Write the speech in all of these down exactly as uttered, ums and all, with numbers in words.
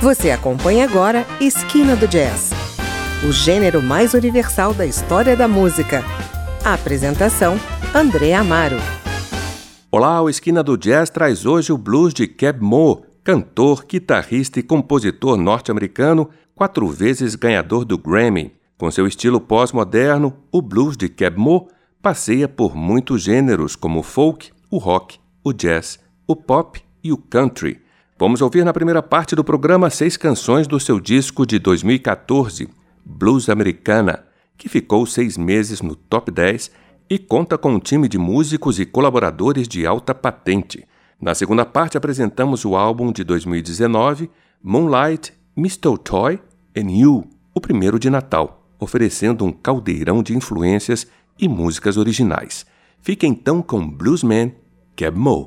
Você acompanha agora Esquina do Jazz, o gênero mais universal da história da música. A apresentação, André Amaro. Olá, o Esquina do Jazz traz hoje o blues de Keb Mo, cantor, guitarrista e compositor norte-americano, quatro vezes ganhador do Grammy. Com seu estilo pós-moderno, o blues de Keb Mo passeia por muitos gêneros como o folk, o rock, o jazz, o pop e o country. Vamos ouvir na primeira parte do programa seis canções do seu disco de dois mil e quatorze, Blues Americana, que ficou seis meses no top dez e conta com um time de músicos e colaboradores de alta patente. Na segunda parte apresentamos o álbum de dois mil e dezenove, Moonlight, Mistletoe and You, o primeiro de Natal, oferecendo um caldeirão de influências e músicas originais. Fique então com Bluesman Keb Mo.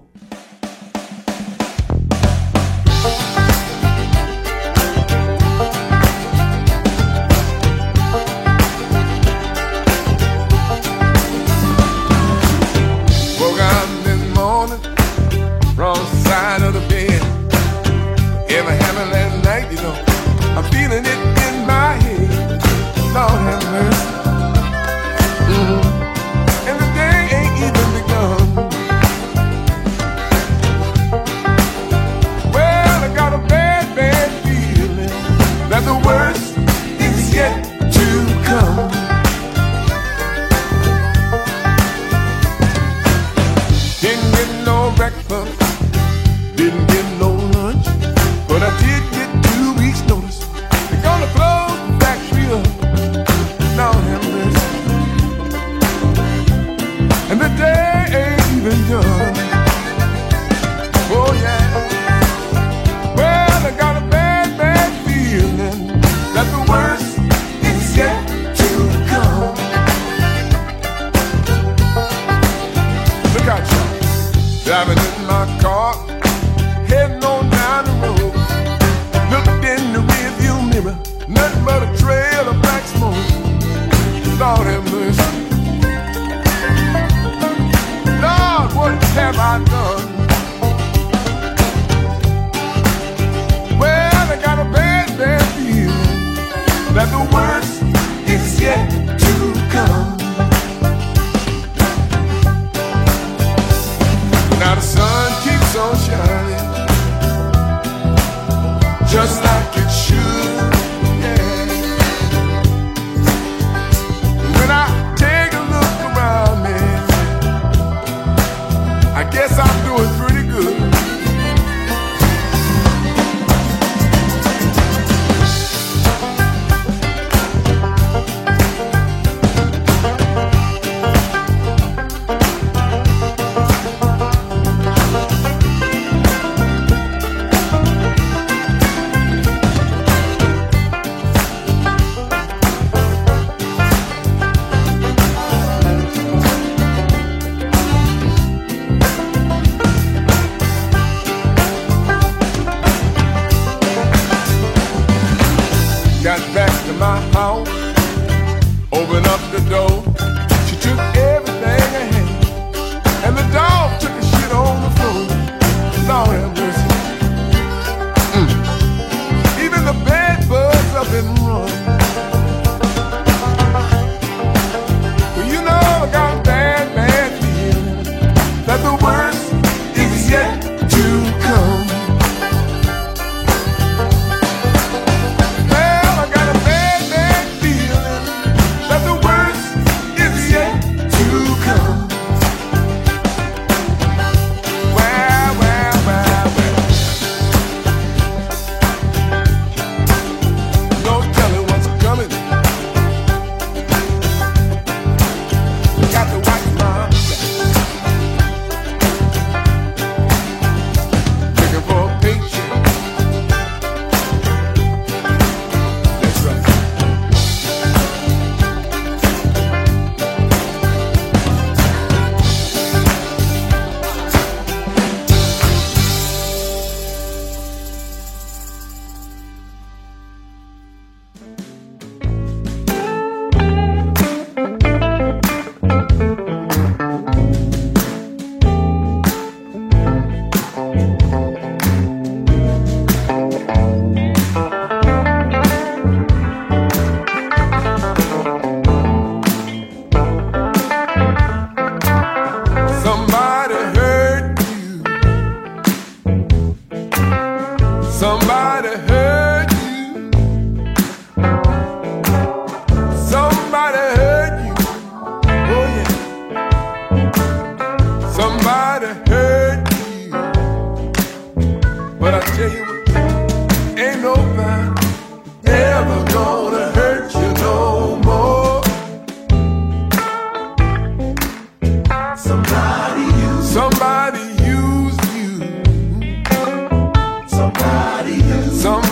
Somebody hurt you. Somebody hurt you. Oh yeah. Somebody hurt you. But I tell you what, ain't nobody ever gonna hurt you no more. Somebody used Somebody used you. Somebody used Somebody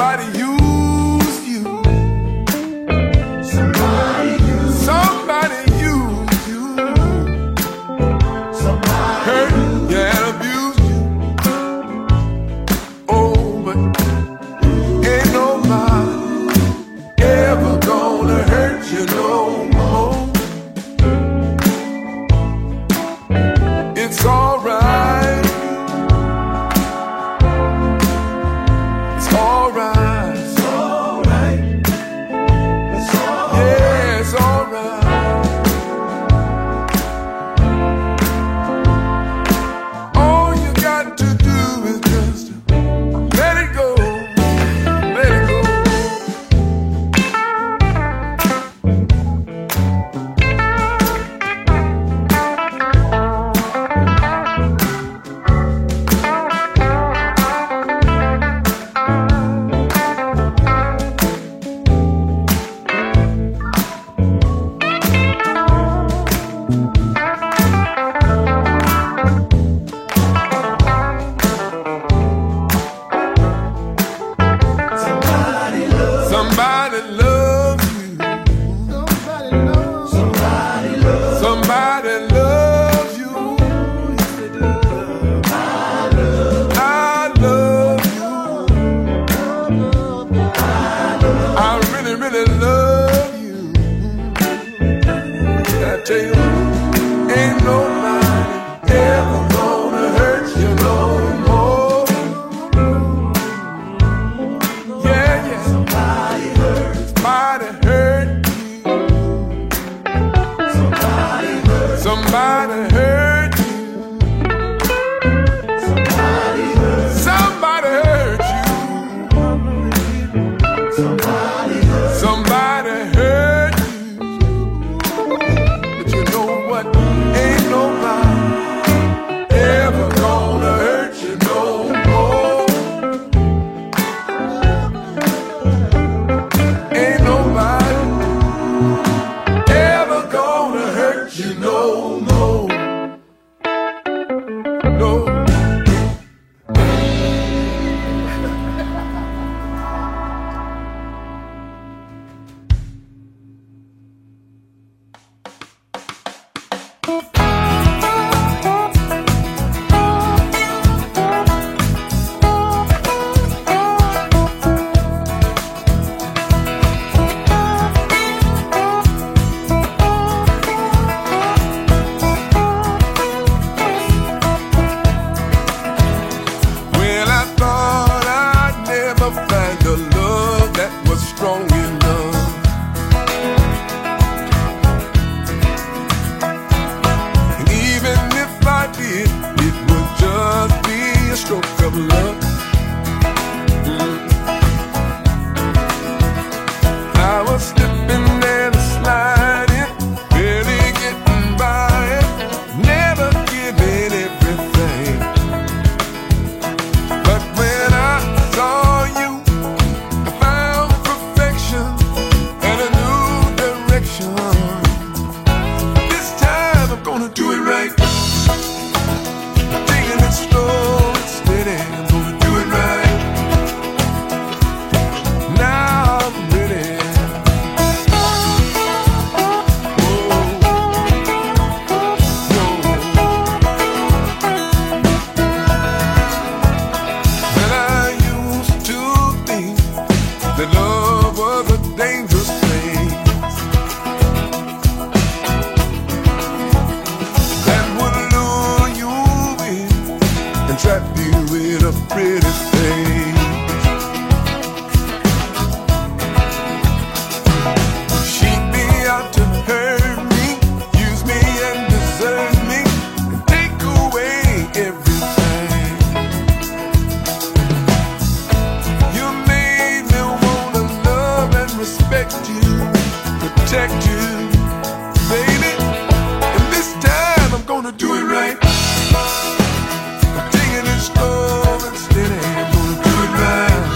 respect you, protect you, baby. And this time I'm gonna do it right. I'm taking it slow and steady. I'm gonna do it right.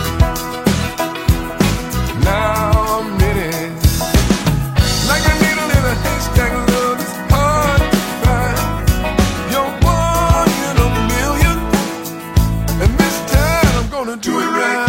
Now I'm ready. Like a needle in a haystack, love is hard to find. You're one in a million. And this time I'm gonna do it right.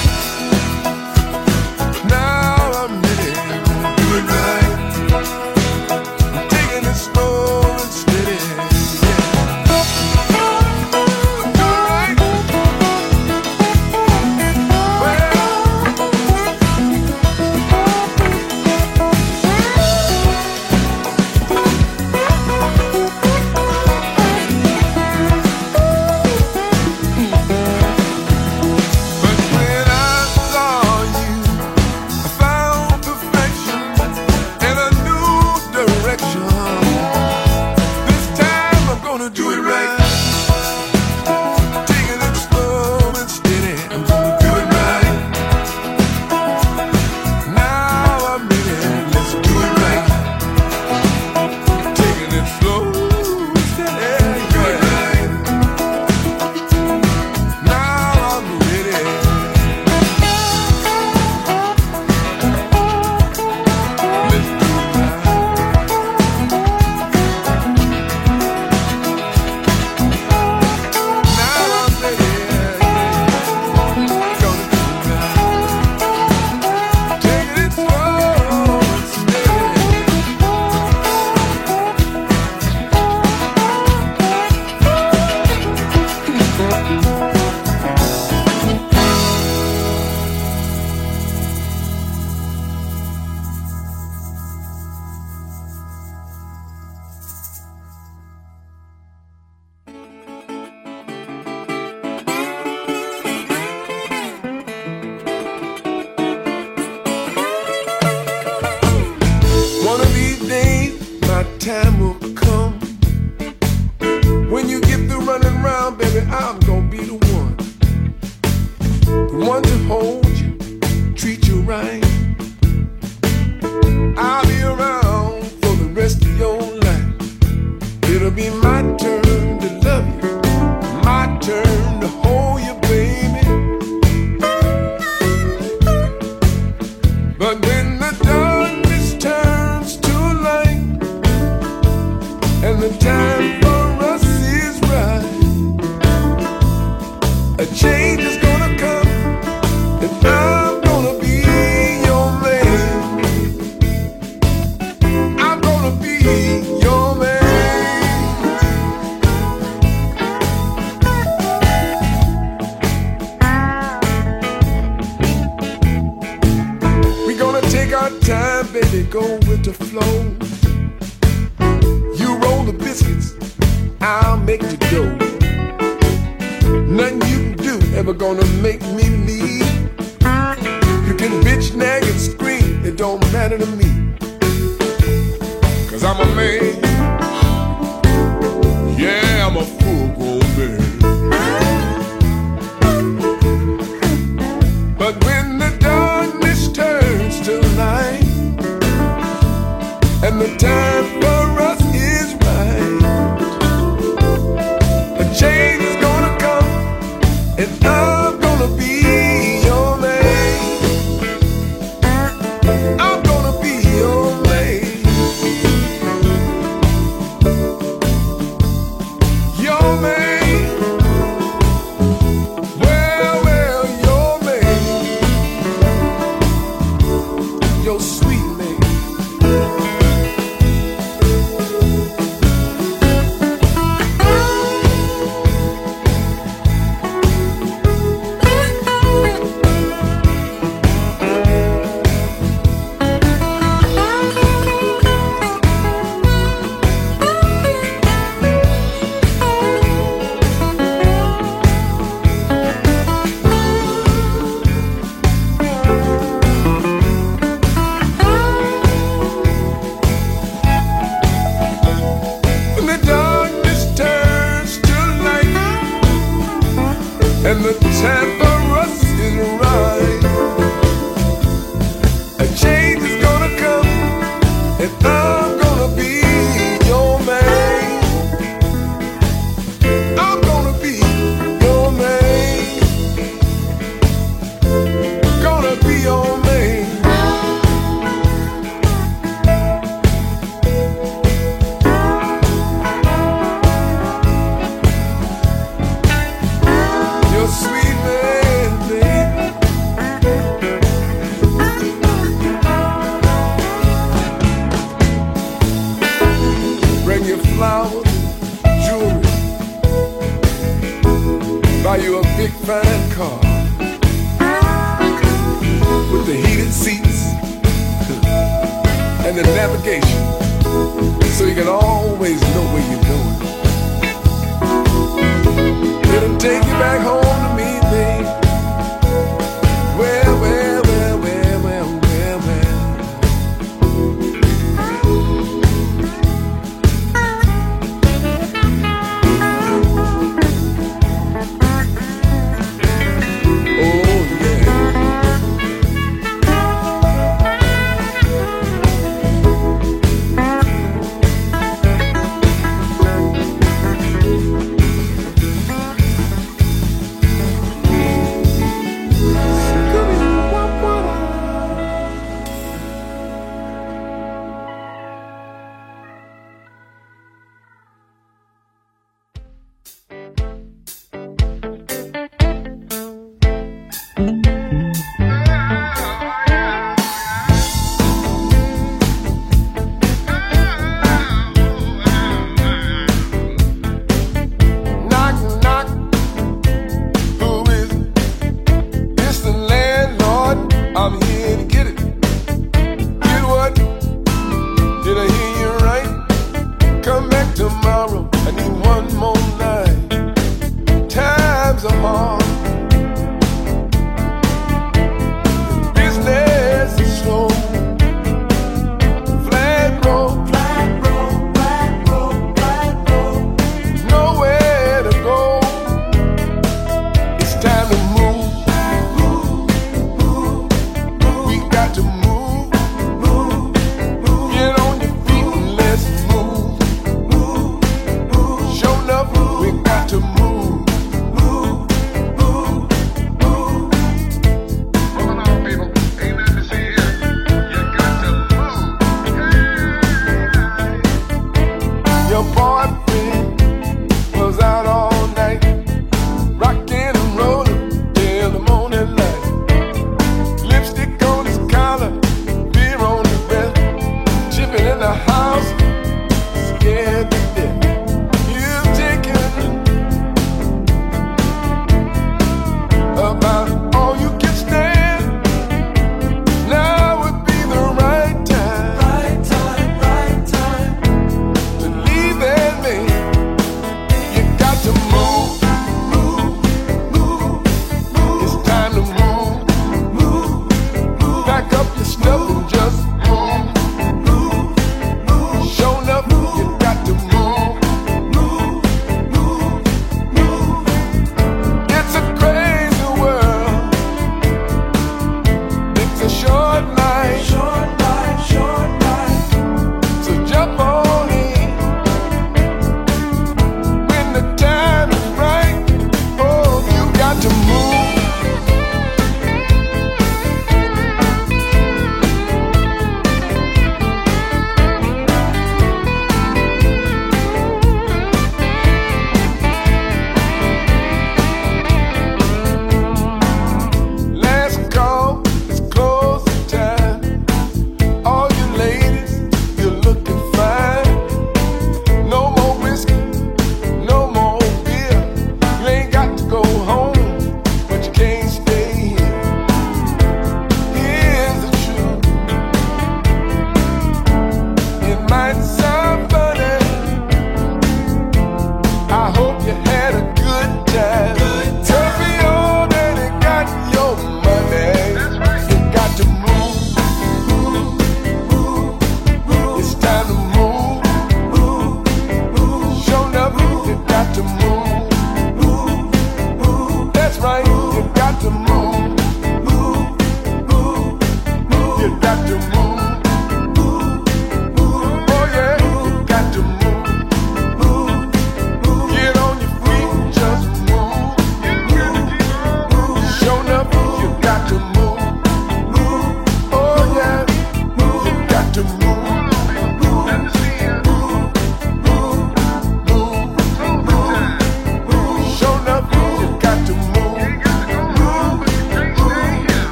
Time will come when you get through running around, baby. I'm gonna be the one, the one to hold you, treat you right. I'll be around for the rest of your life. It'll be my turn to love you, my turn to hold you, baby. But when the darkness turns to light and the time for us is right, a change is gonna come, and I'm gonna be your man. I'm gonna be your man. We're gonna take our time, baby, go with the flow. The biscuits, I'll make the dough. Nothing you can do ever gonna make me leave. You can bitch, nag, and scream, it don't matter to me, 'cause I'm a man. Yeah, I'm a full-grown man. But when the darkness turns to light and the time for us is right, a change is gonna come, and I'm gonna be your man. I'm gonna be your man. Your man. Well, well, your man. your name. Your sweet man, baby. Bring you flowers, jewelry, buy you a big fine car with the heated seats and the navigation, so you can always know where you're going. It'll take you back home to me, babe. Well, well, well, well, well, well, well. Oh, yeah.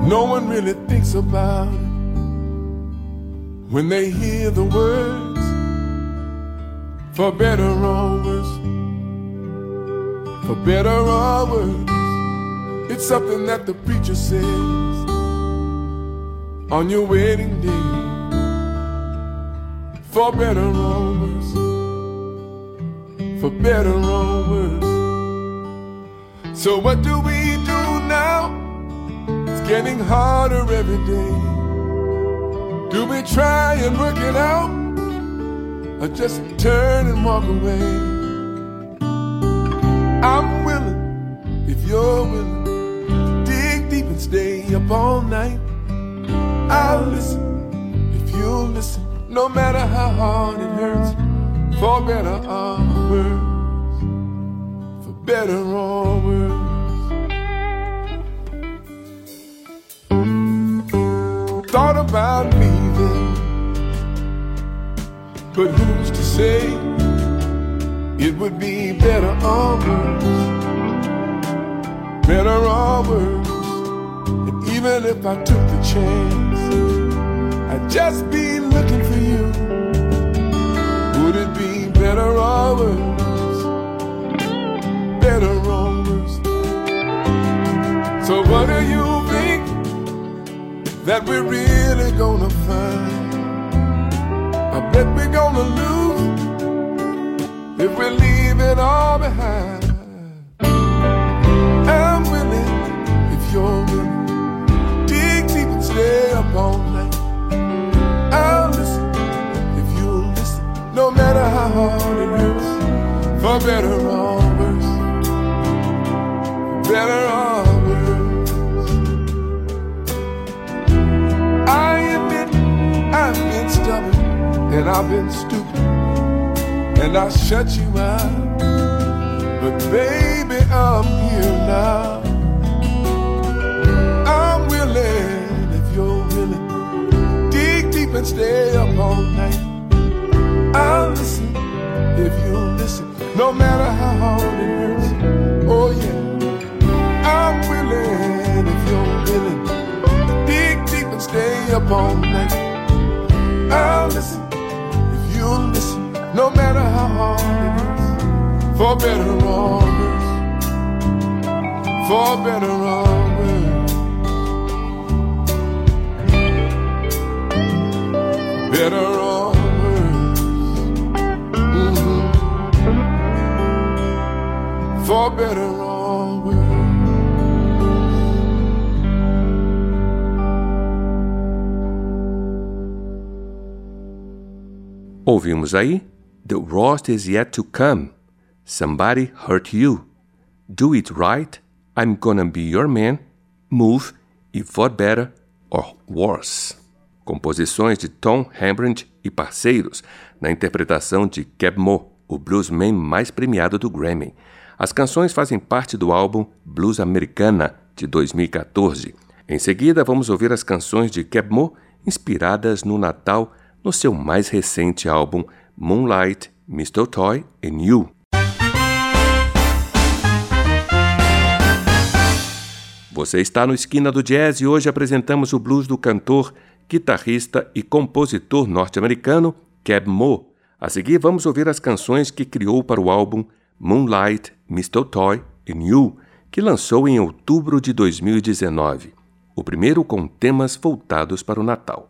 no one really thinks about it when they hear the words, for better or worse, for better or worse. It's something that the preacher says on your wedding day, for better or worse, for better or worse. So what do we do now? It's getting harder every day. Do we try and work it out, or just turn and walk away? I'm willing, if you're willing, to dig deep and stay up all night. I'll listen, if you'll listen, no matter how hard it hurts, for better or worse, for better or worse. Thought about leaving, but who's to say it would be better or worse, better or worse. And even if I took the chance, I'd just be looking for you. Would it be better or worse, better or worse? So what do you think that we're really gonna find? I bet we're gonna lose if we leave it all behind. I'm willing, if you're willing, dig deep and stay up all night. I'll listen, if you'll listen, no matter how hard it hurts, for better or worse, for better or worse. I admit I've been stubborn and I've been stupid, and I shut you out, but baby, I'm here now. I'm willing, if you're willing, dig deep and stay up all night. I'll listen, if you'll listen, no matter how hard it hurts. Oh yeah, I'm willing, if you're willing, dig deep and stay up all night. I'll listen, if you'll listen, no matter how hard it hurts, for better or worse, for better or worse, better or worse, mm-hmm. For better or worse. Ouvimos aí The Worst Is Yet to Come, Somebody Hurt You, Do It Right, I'm Gonna Be Your Man, Move e For Better or Worse. Composições de Tom Hembrandt e parceiros, na interpretação de Keb Mo, o bluesman mais premiado do Grammy. As canções fazem parte do álbum Blues Americana, de dois mil e catorze. Em seguida, vamos ouvir as canções de Keb Mo, inspiradas no Natal, no seu mais recente álbum Moonlight, Mistletoe and You. Você está no Esquina do Jazz e hoje apresentamos o blues do cantor, guitarrista e compositor norte-americano Keb Mo. A seguir vamos ouvir as canções que criou para o álbum Moonlight, Mistletoe and You, que lançou em outubro de dois mil e dezenove. O primeiro com temas voltados para o Natal.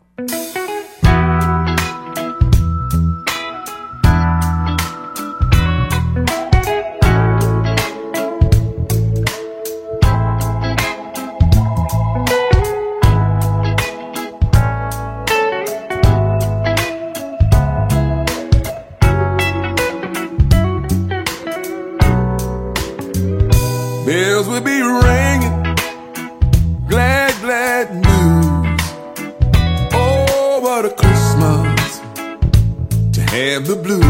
Bells will be ringing, glad, glad news. Oh, what a Christmas to have the blues.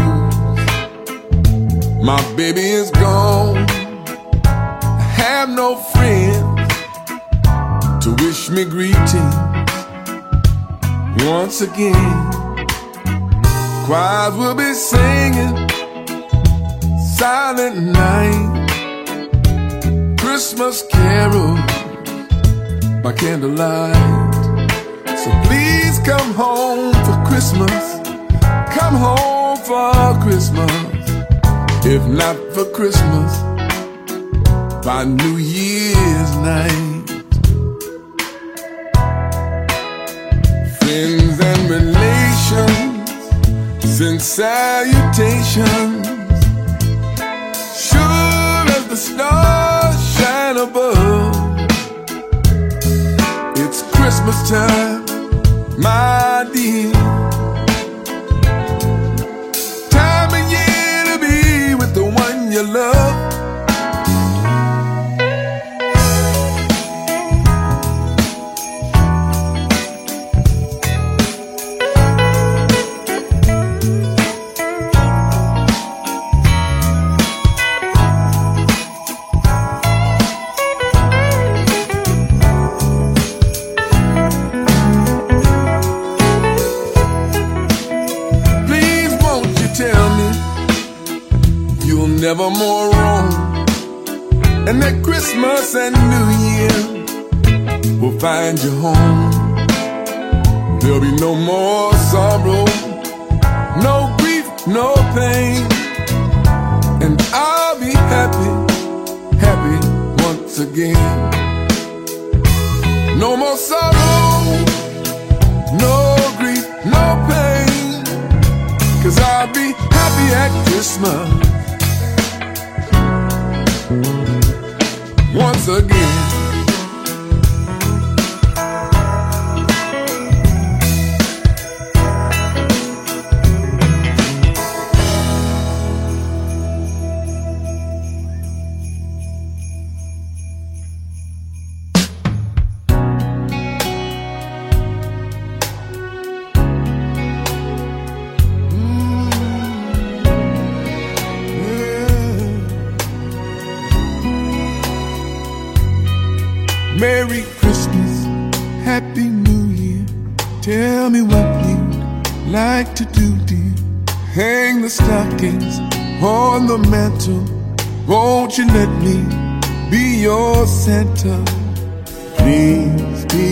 My baby is gone, I have no friends to wish me greetings once again. Choirs will be singing, silent night, Christmas carols by candlelight. So please come home for Christmas. Come home for Christmas. If not for Christmas, by New Year's night. Friends and relations send salutations. Sure as the stars shine above, it's Christmas time, my dear. Time of year to be with the one you love. Never more wrong, and that Christmas and New Year will find you home. There'll be no more sorrow, no grief, no pain, and I'll be happy, happy once again. No more sorrow, no grief, no pain, 'cause I'll be happy at Christmas once again. Merry Christmas, Happy New Year. Tell me what you'd like to do, dear. Hang the stockings on the mantle. Won't you let me be your Santa? Please be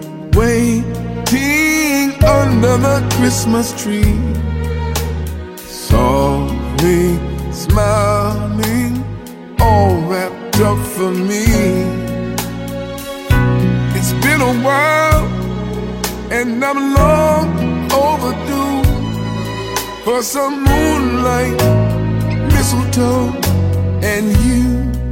waiting under the Christmas tree, softly smiling, all wrapped up for me. It's been a while, and I'm long overdue for some moonlight, mistletoe, and you.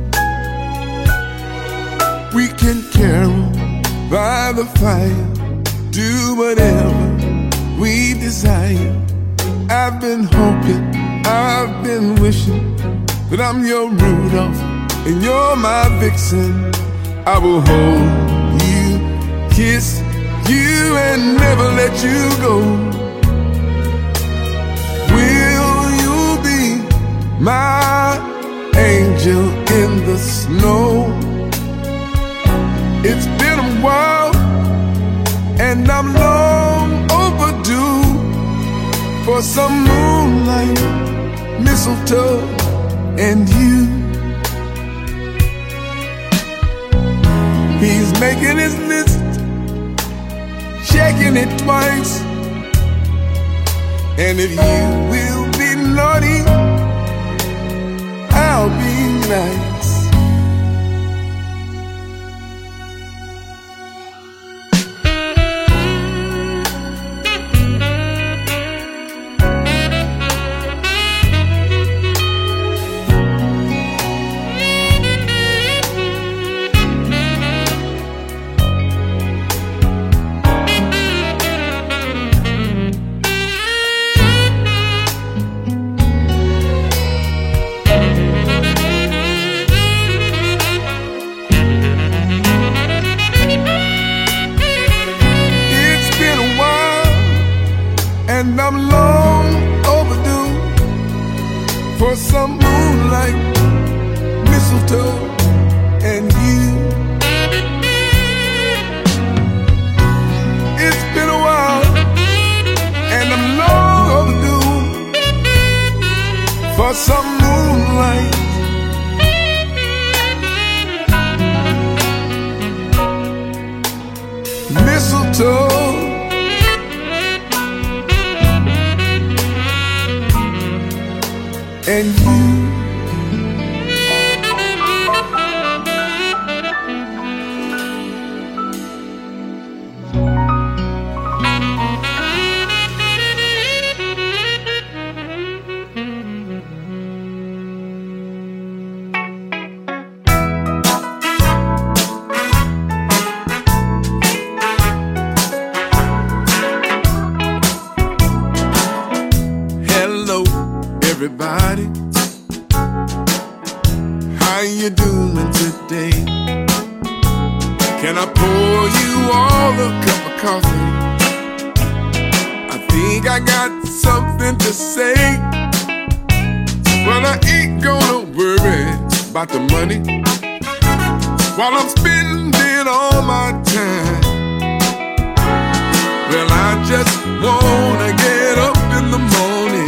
We can carol by the fire, do whatever we desire. I've been hoping, I've been wishing that I'm your Rudolph and you're my Vixen. I will hold, kiss you and never let you go. Will you be my angel in the snow? It's been a while, and I'm long overdue for some moonlight, mistletoe, and you. He's making his list, checking it twice, and if you will be naughty, I'll be nice. and you. Everybody, how you doing today? Can I pour you all a cup of coffee? I think I got something to say. Well, I ain't gonna worry about the money while I'm spending all my time. Well, I just wanna get up in the morning,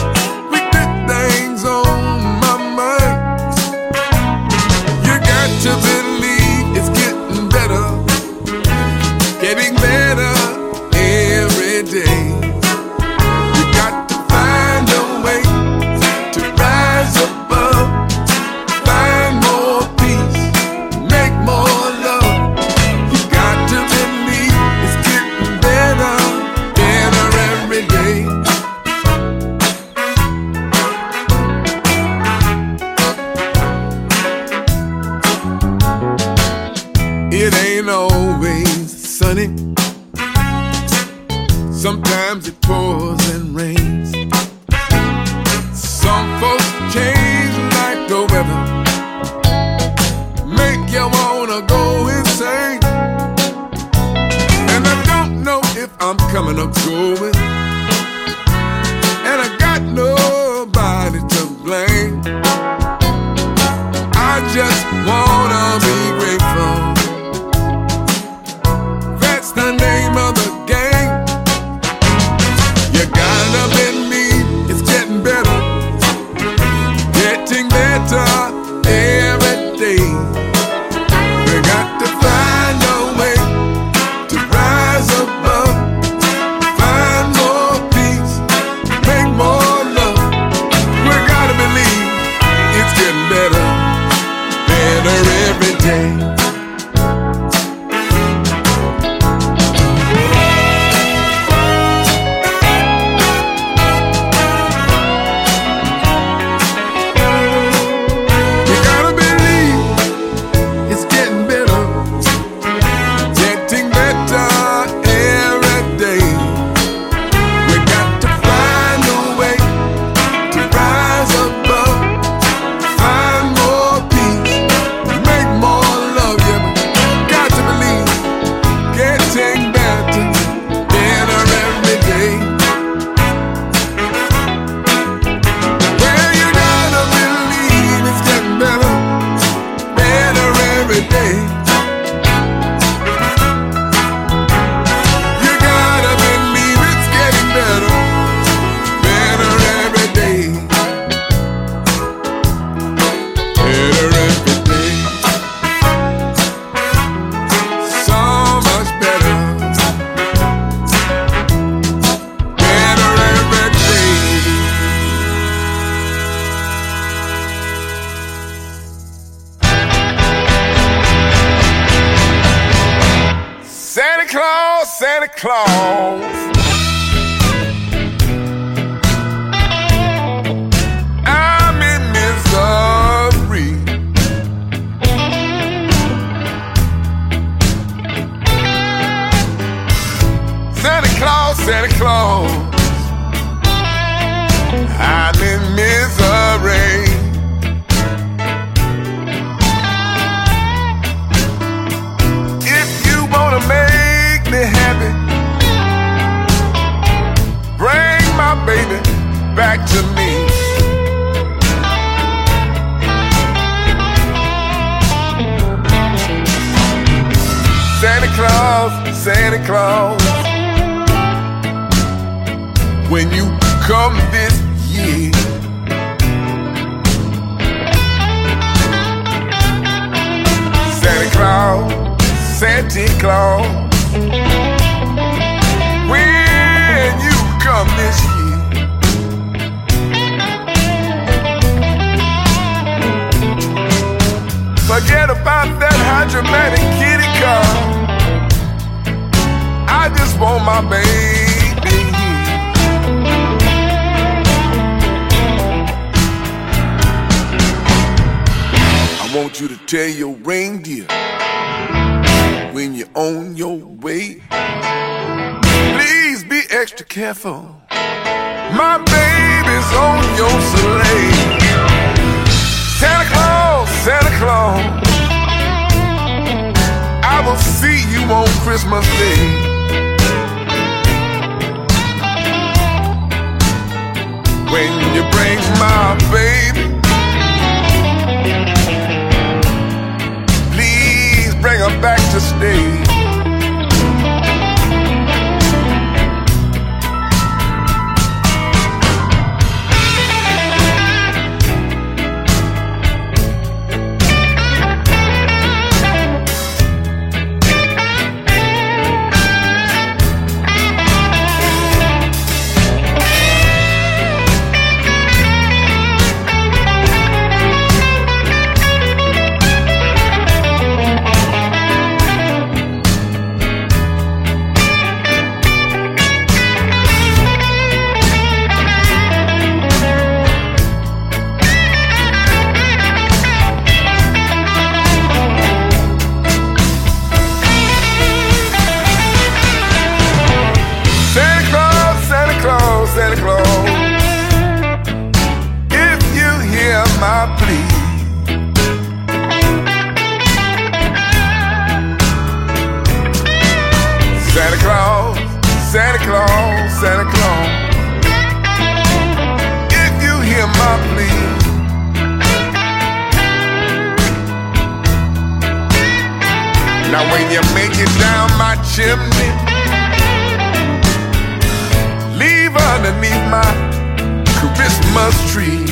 to believe it's getting better, getting better every day. You got to find a way to rise above, find more peace, make more love. You got to believe it's getting better, better every day. It ain't always sunny. Sometimes it pours and rains. Some folks change like the weather, make you wanna go insane. And I don't know if I'm coming or going, and I got nobody to blame. I just wanna be grateful. The name of the game. You gotta believe it's getting better, getting better every day. We got to find a way to rise above, find more peace, make more love. We gotta believe it's getting better, better every day. Santa Claus, I'm in misery. Santa Claus, Santa Claus, I'm in misery. If you wanna make me happy, bring my baby back to me. Santa Claus, Santa Claus, when you come this year, Santa Claus, Santa Claus, when you come this year, Forget about that hydromatic kitty car. I just want my baby. I want you to tell your reindeer when you're on your way, please be extra careful. My baby's on your sleigh. Santa Claus, Santa Claus, I will see you on Christmas Day. When you bring my baby, please bring her back to stay. Santa Claus, if you hear my plea, Santa Claus, Santa Claus, Santa Claus, if you hear my plea, now when you make it down my chimney, underneath my Christmas tree,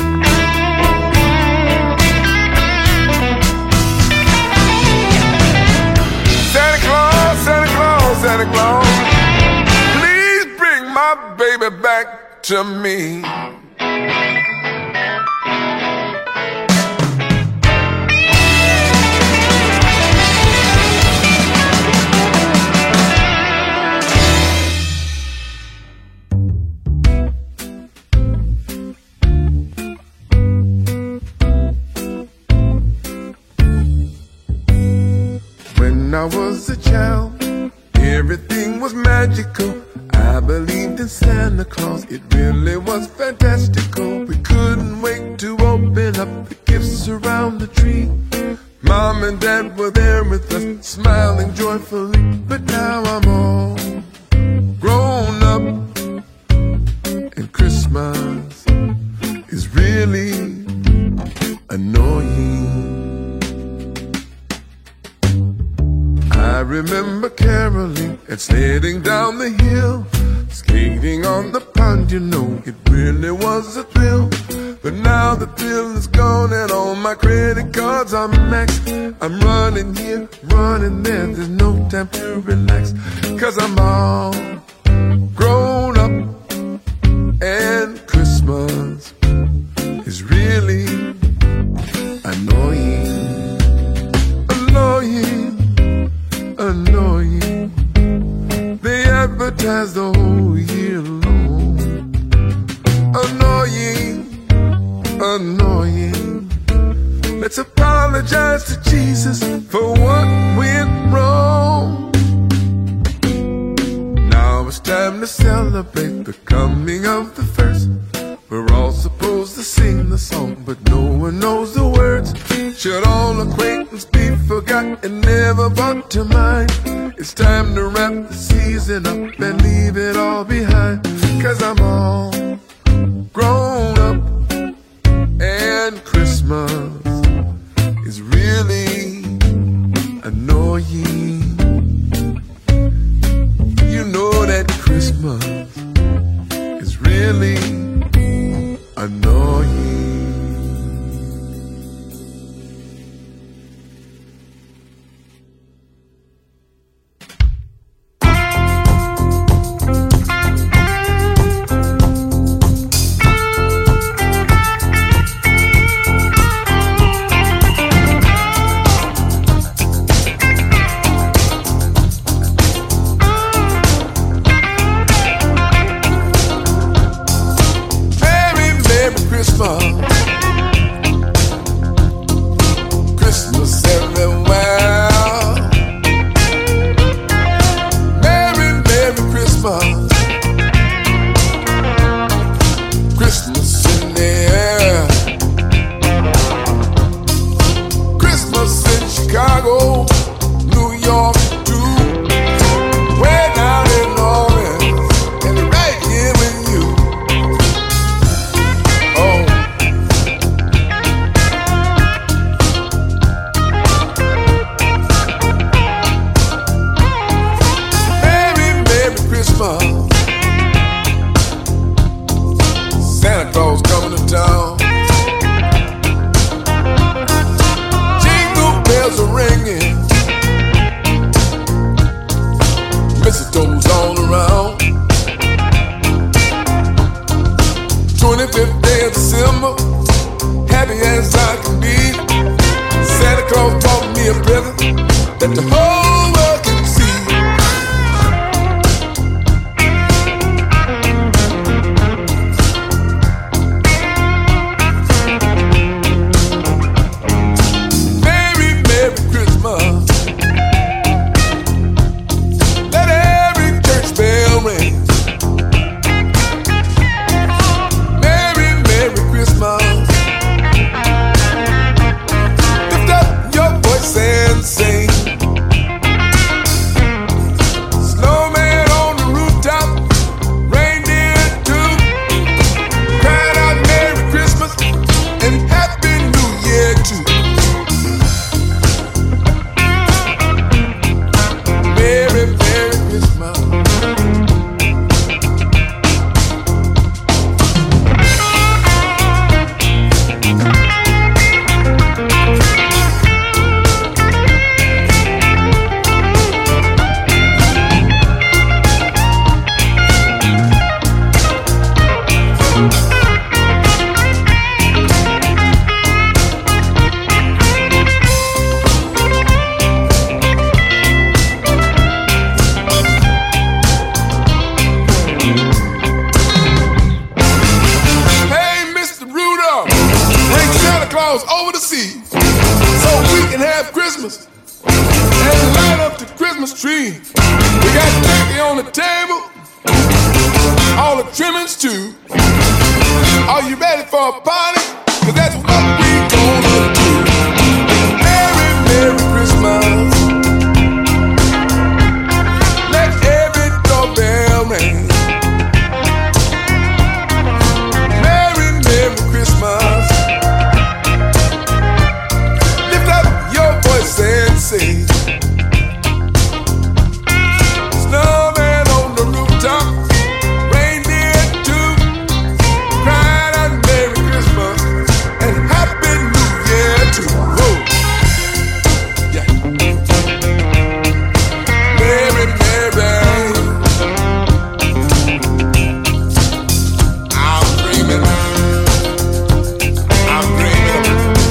Santa Claus, Santa Claus, Santa Claus, please bring my baby back to me. When I was a child, everything was magical. I believed in Santa Claus, it really was fantastical. We couldn't wait to open up the gifts around the tree. Mom and Dad were there with us, smiling joyfully. But now I'm all grown up, and Christmas is really annoying. I remember caroling and sledding down the hill, skating on the pond, you know, it really was a thrill. But now the thrill is gone and all my credit cards are maxed. I'm running here, running there, there's no time to relax, 'cause I'm all grown up, and Christmas is really annoying. Annoying. Annoying. They advertise the whole year long. Annoying, annoying. Let's apologize to Jesus for what went wrong. Now it's time to celebrate the coming of the first. We're all supposed to sing the song, but no one knows the words. Should all acquaintance be forgot and never brought to mind? It's time to wrap the season up and leave it all behind. 'Cause I'm all grown up, and Christmas is really annoying. You know that Christmas is really annoying. that the whole world can see. Merry, Merry Christmas. Let every church bell ring. Merry, Merry Christmas. Lift up your voice and sing. Snowman on the rooftop, reindeer too, crying out Merry Christmas and Happy New Year too. Merry, Merry Christmas. Hey, Mister Rudolph, bring Santa Claus over the sea so we can have Christmas and light up the Christmas tree. We got turkey on the table, all the trimmings too. Are you ready for a party? 'Cause that's what we gonna do. Merry, Merry Christmas. Let every doorbell ring. Merry, Merry Christmas. Lift up your voice and sing. Snowman on the rooftop, reindeer too, crying out Merry Christmas and Happy New Year too. Whoa. Yeah. Merry, Merry. I'm dreaming. I'm dreaming.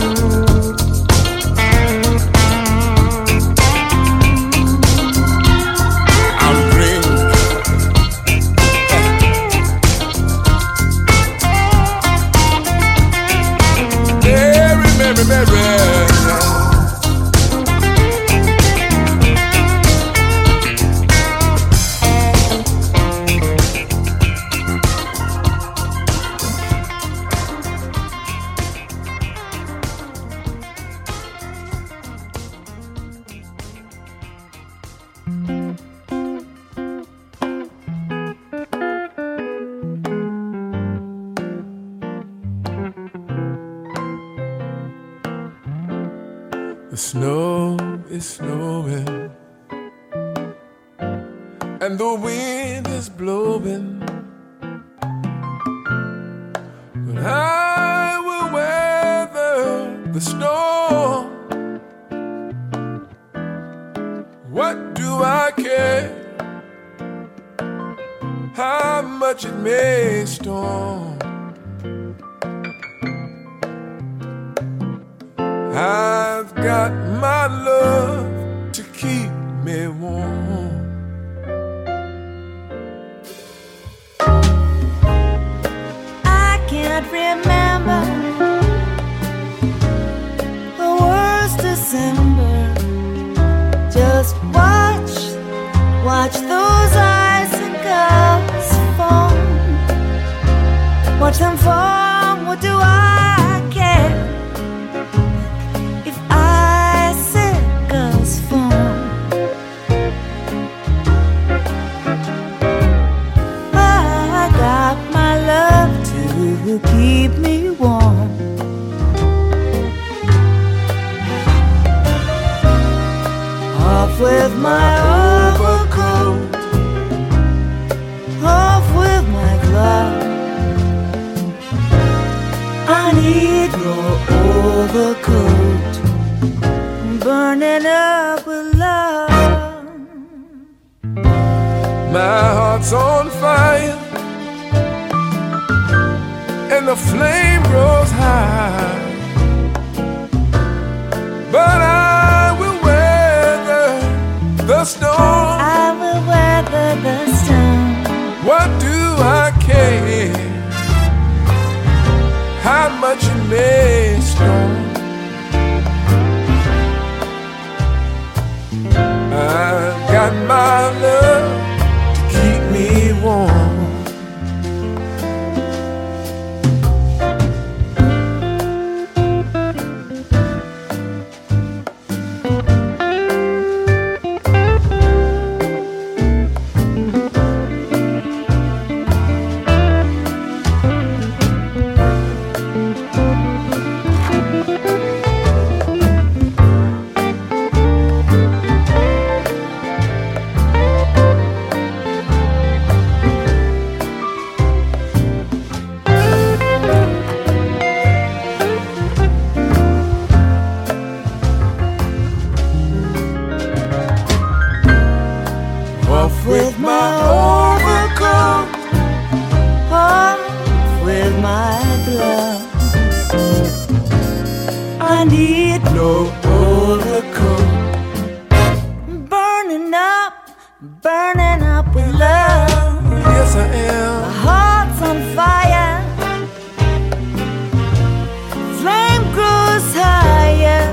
I'm dreaming. Merry, Merry, Merry. The snow is snowing and the wind is blowing, but I will weather the storm. What do I care how much it may storm? I've got my love to keep me warm. I can't remember the worst December. Just watch, watch those icicles fall. Watch them fall, what do I care? If icicles fall, I got my love to keep me warm. Off with my overcoat, off with my glove. I need no overcoat, burning up with love. My heart's on fire and the flame grows high, but I will weather the storm. I will weather the storm. What do I care how much it may storm? I've got my love to keep me warm. With my overcoat, Off with my gloves. I need no overcoat. burning up, burning up with love. Yes, I My am. heart's on fire. Flame grows higher.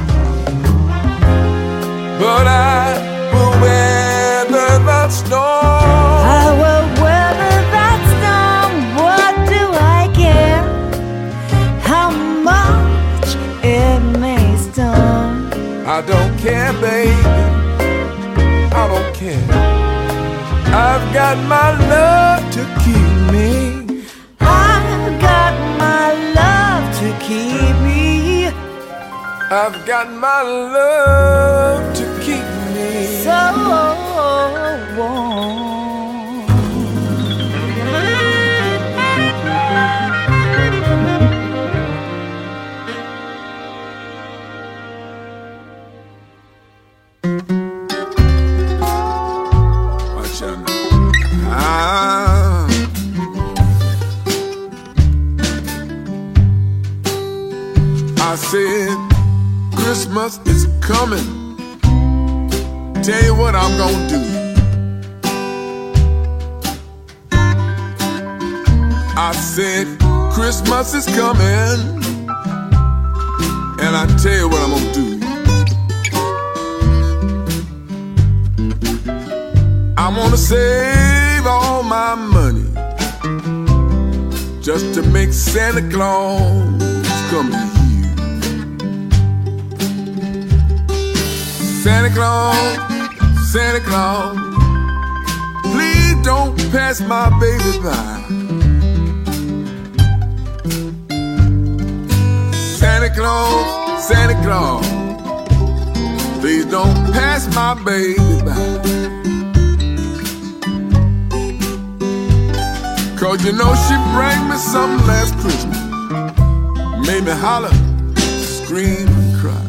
But I will weather the storm. I will weather that storm. What do I care how much it may storm? I don't care, baby. I don't care. I've got my love to keep me. I've got my love to keep me. I've got my love to keep me. So warm. Watch out now. Ah. I said Christmas is coming. Tell you what I'm gonna do. I said Christmas is coming, and I tell you what I'm gonna do. I'm gonna save all my money just to make Santa Claus come to you. Santa Claus, Santa Claus, please don't pass my baby by. Santa Claus, Santa Claus, please don't pass my baby by. Cause you know she bring me something last Christmas, made me holler, scream and cry.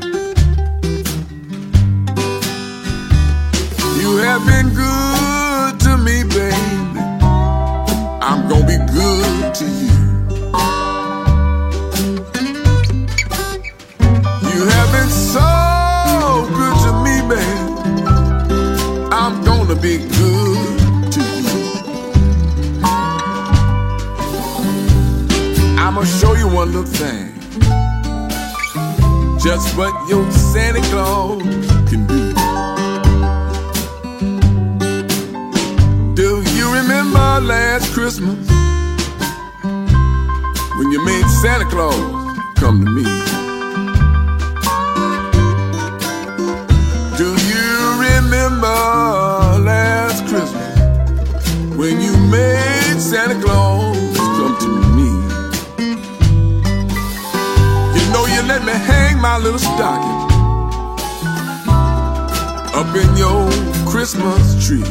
You have been good to me, baby. I'm gonna be good to you. You have been so good to me, baby. I'm gonna be good to you. I'ma show you one little thing, just what your Santa Claus can do. Do you remember last Christmas when you made Santa Claus come to me? Do you remember last Christmas when you made Santa Claus come to me? You know you let me hang my little stocking up in your Christmas tree.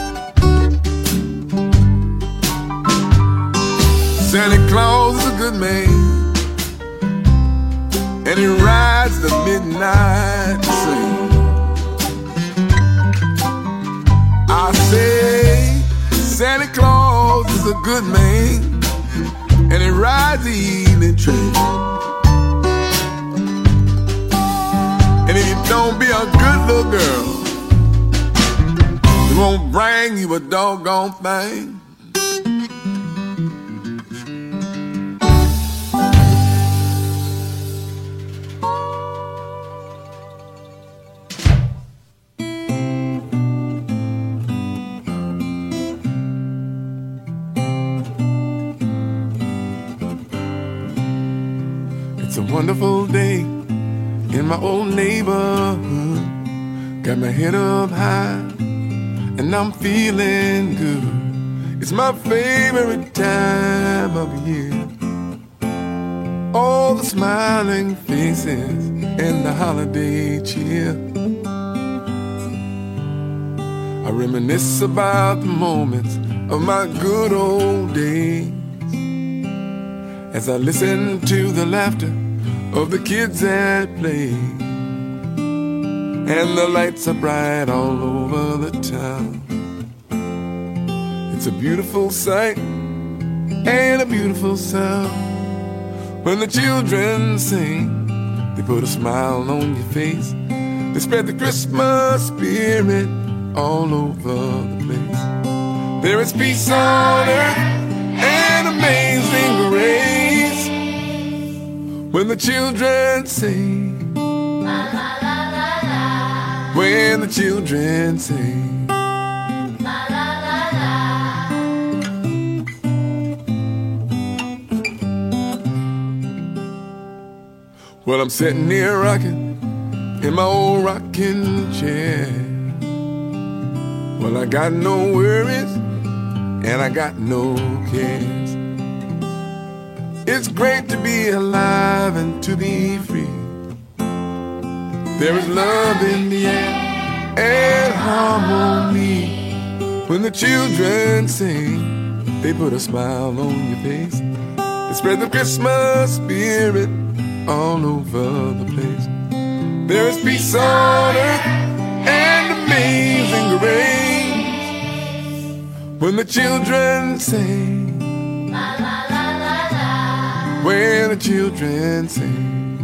Santa Claus is a good man, and he rides the midnight train. I say Santa Claus is a good man, and he rides the evening train. And if you don't be a good little girl, won't bring you a doggone thing. It's a wonderful day in my old neighborhood. Got my head up high and I'm feeling good. It's my favorite time of year. All the smiling faces and the holiday cheer. I reminisce about the moments of my good old days as I listen to the laughter of the kids at play. And the lights are bright all over the town. It's a beautiful sight and a beautiful sound. When the children sing, they put a smile on your face. They spread the Christmas spirit all over the place. There is peace on earth and amazing grace when the children sing. When the children sing. Well, I'm sitting here rocking in my old rocking chair. Well, I got no worries and I got no cares. It's great to be alive and to be free. There is love in the air and harmony. When the children sing, they put a smile on your face. They spread the Christmas spirit all over the place. There is peace on earth and amazing grace when the children sing. When the children sing.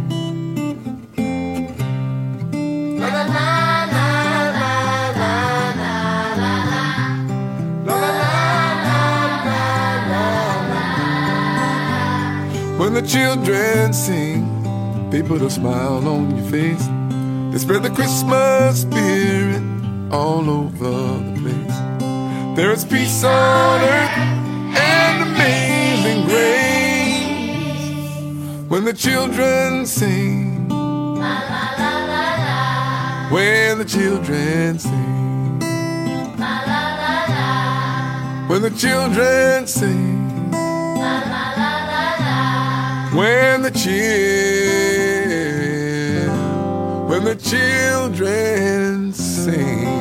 When the children sing, they put a smile on your face. They spread the Christmas spirit all over the place. There is peace on earth and amazing grace when the children sing. When the children sing. When the children sing. When the children, when the children sing.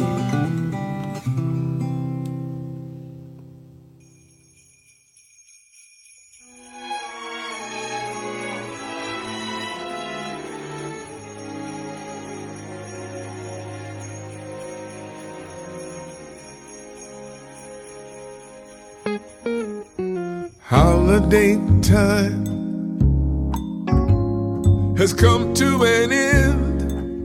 Holiday time has come to an end.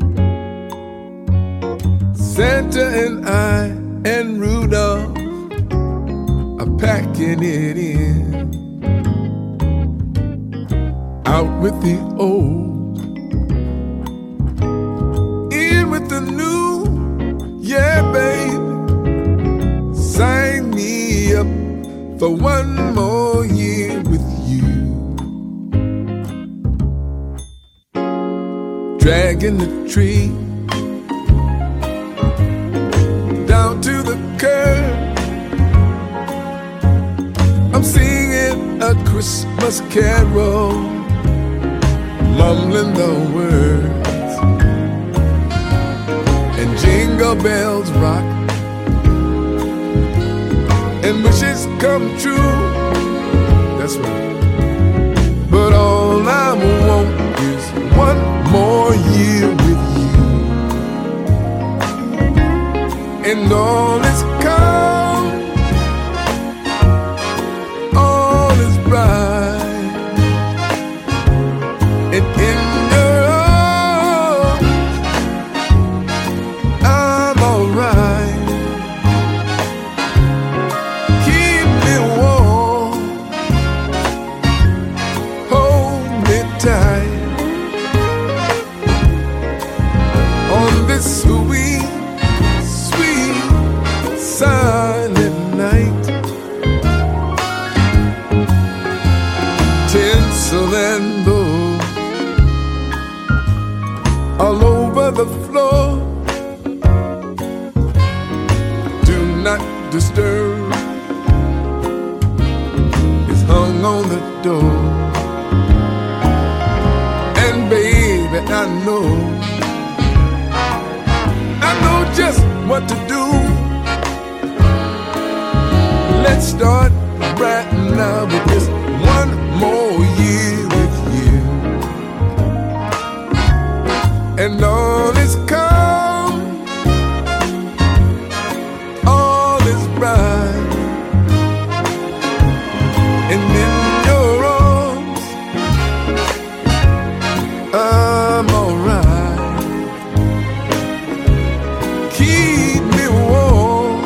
Santa and I and Rudolph are packing it in. Out with the old, in with the new. Yeah, babe, sign me up for one more year with you. Dragging the tree down to the curb. I'm singing a Christmas carol, mumbling the words, and jingle bells rock, and wishes come true. That's right. But all I want is one more year with you, and all is calm, all is bright, and in your arms I'm alright. this sweet, sweet, silent night. Tinsel and bows all over the floor. Do not disturb is hung on the door. And baby, I know, I know just what to do. Let's start right now with this one more year with you. And all is calm, all is bright. And in your arms, I'm alright. Keep me warm,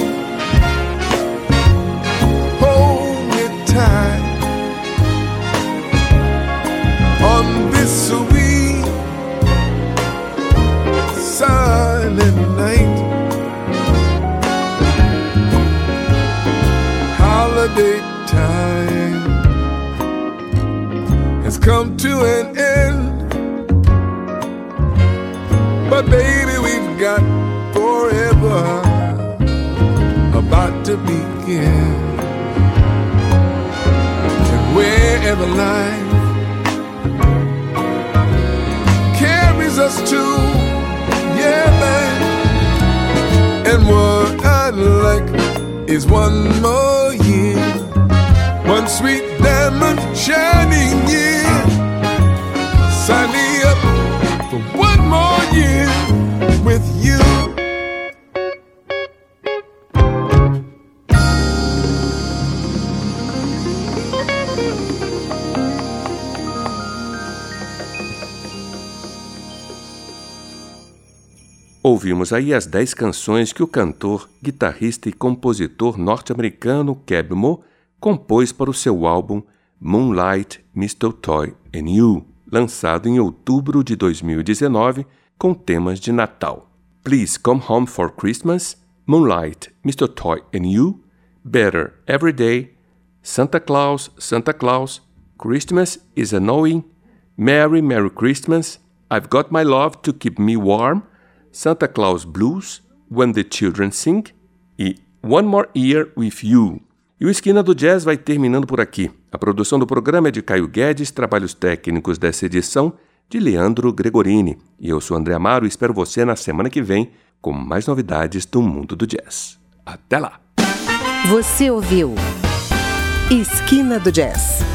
hold me tight on this sweet, silent night. Holiday time has come to an end, but baby, we've got forever about to begin. And wherever life carries us to, yeah, man. And what I'd like is one more year, one sweet diamond shining year. Sign me up for one more year with you. Ouvimos aí as dez canções que o cantor, guitarrista e compositor norte-americano Keb Mo compôs para o seu álbum Moonlight, Mistletoe and You, lançado em outubro de dois mil e dezenove, com temas de Natal. Please Come Home for Christmas, Moonlight, Mistletoe and You, Better Every Day, Santa Claus, Santa Claus, Christmas is a Knowing, Merry, Merry Christmas, I've Got My Love to Keep Me Warm, Santa Claus Blues, When the Children Sing e One More Year With You. E o Esquina do Jazz vai terminando por aqui. A produção do programa é de Caio Guedes, trabalhos técnicos dessa edição de Leandro Gregorini. E eu sou André Amaro e espero você na semana que vem com mais novidades do mundo do jazz. Até lá! Você ouviu Esquina do Jazz,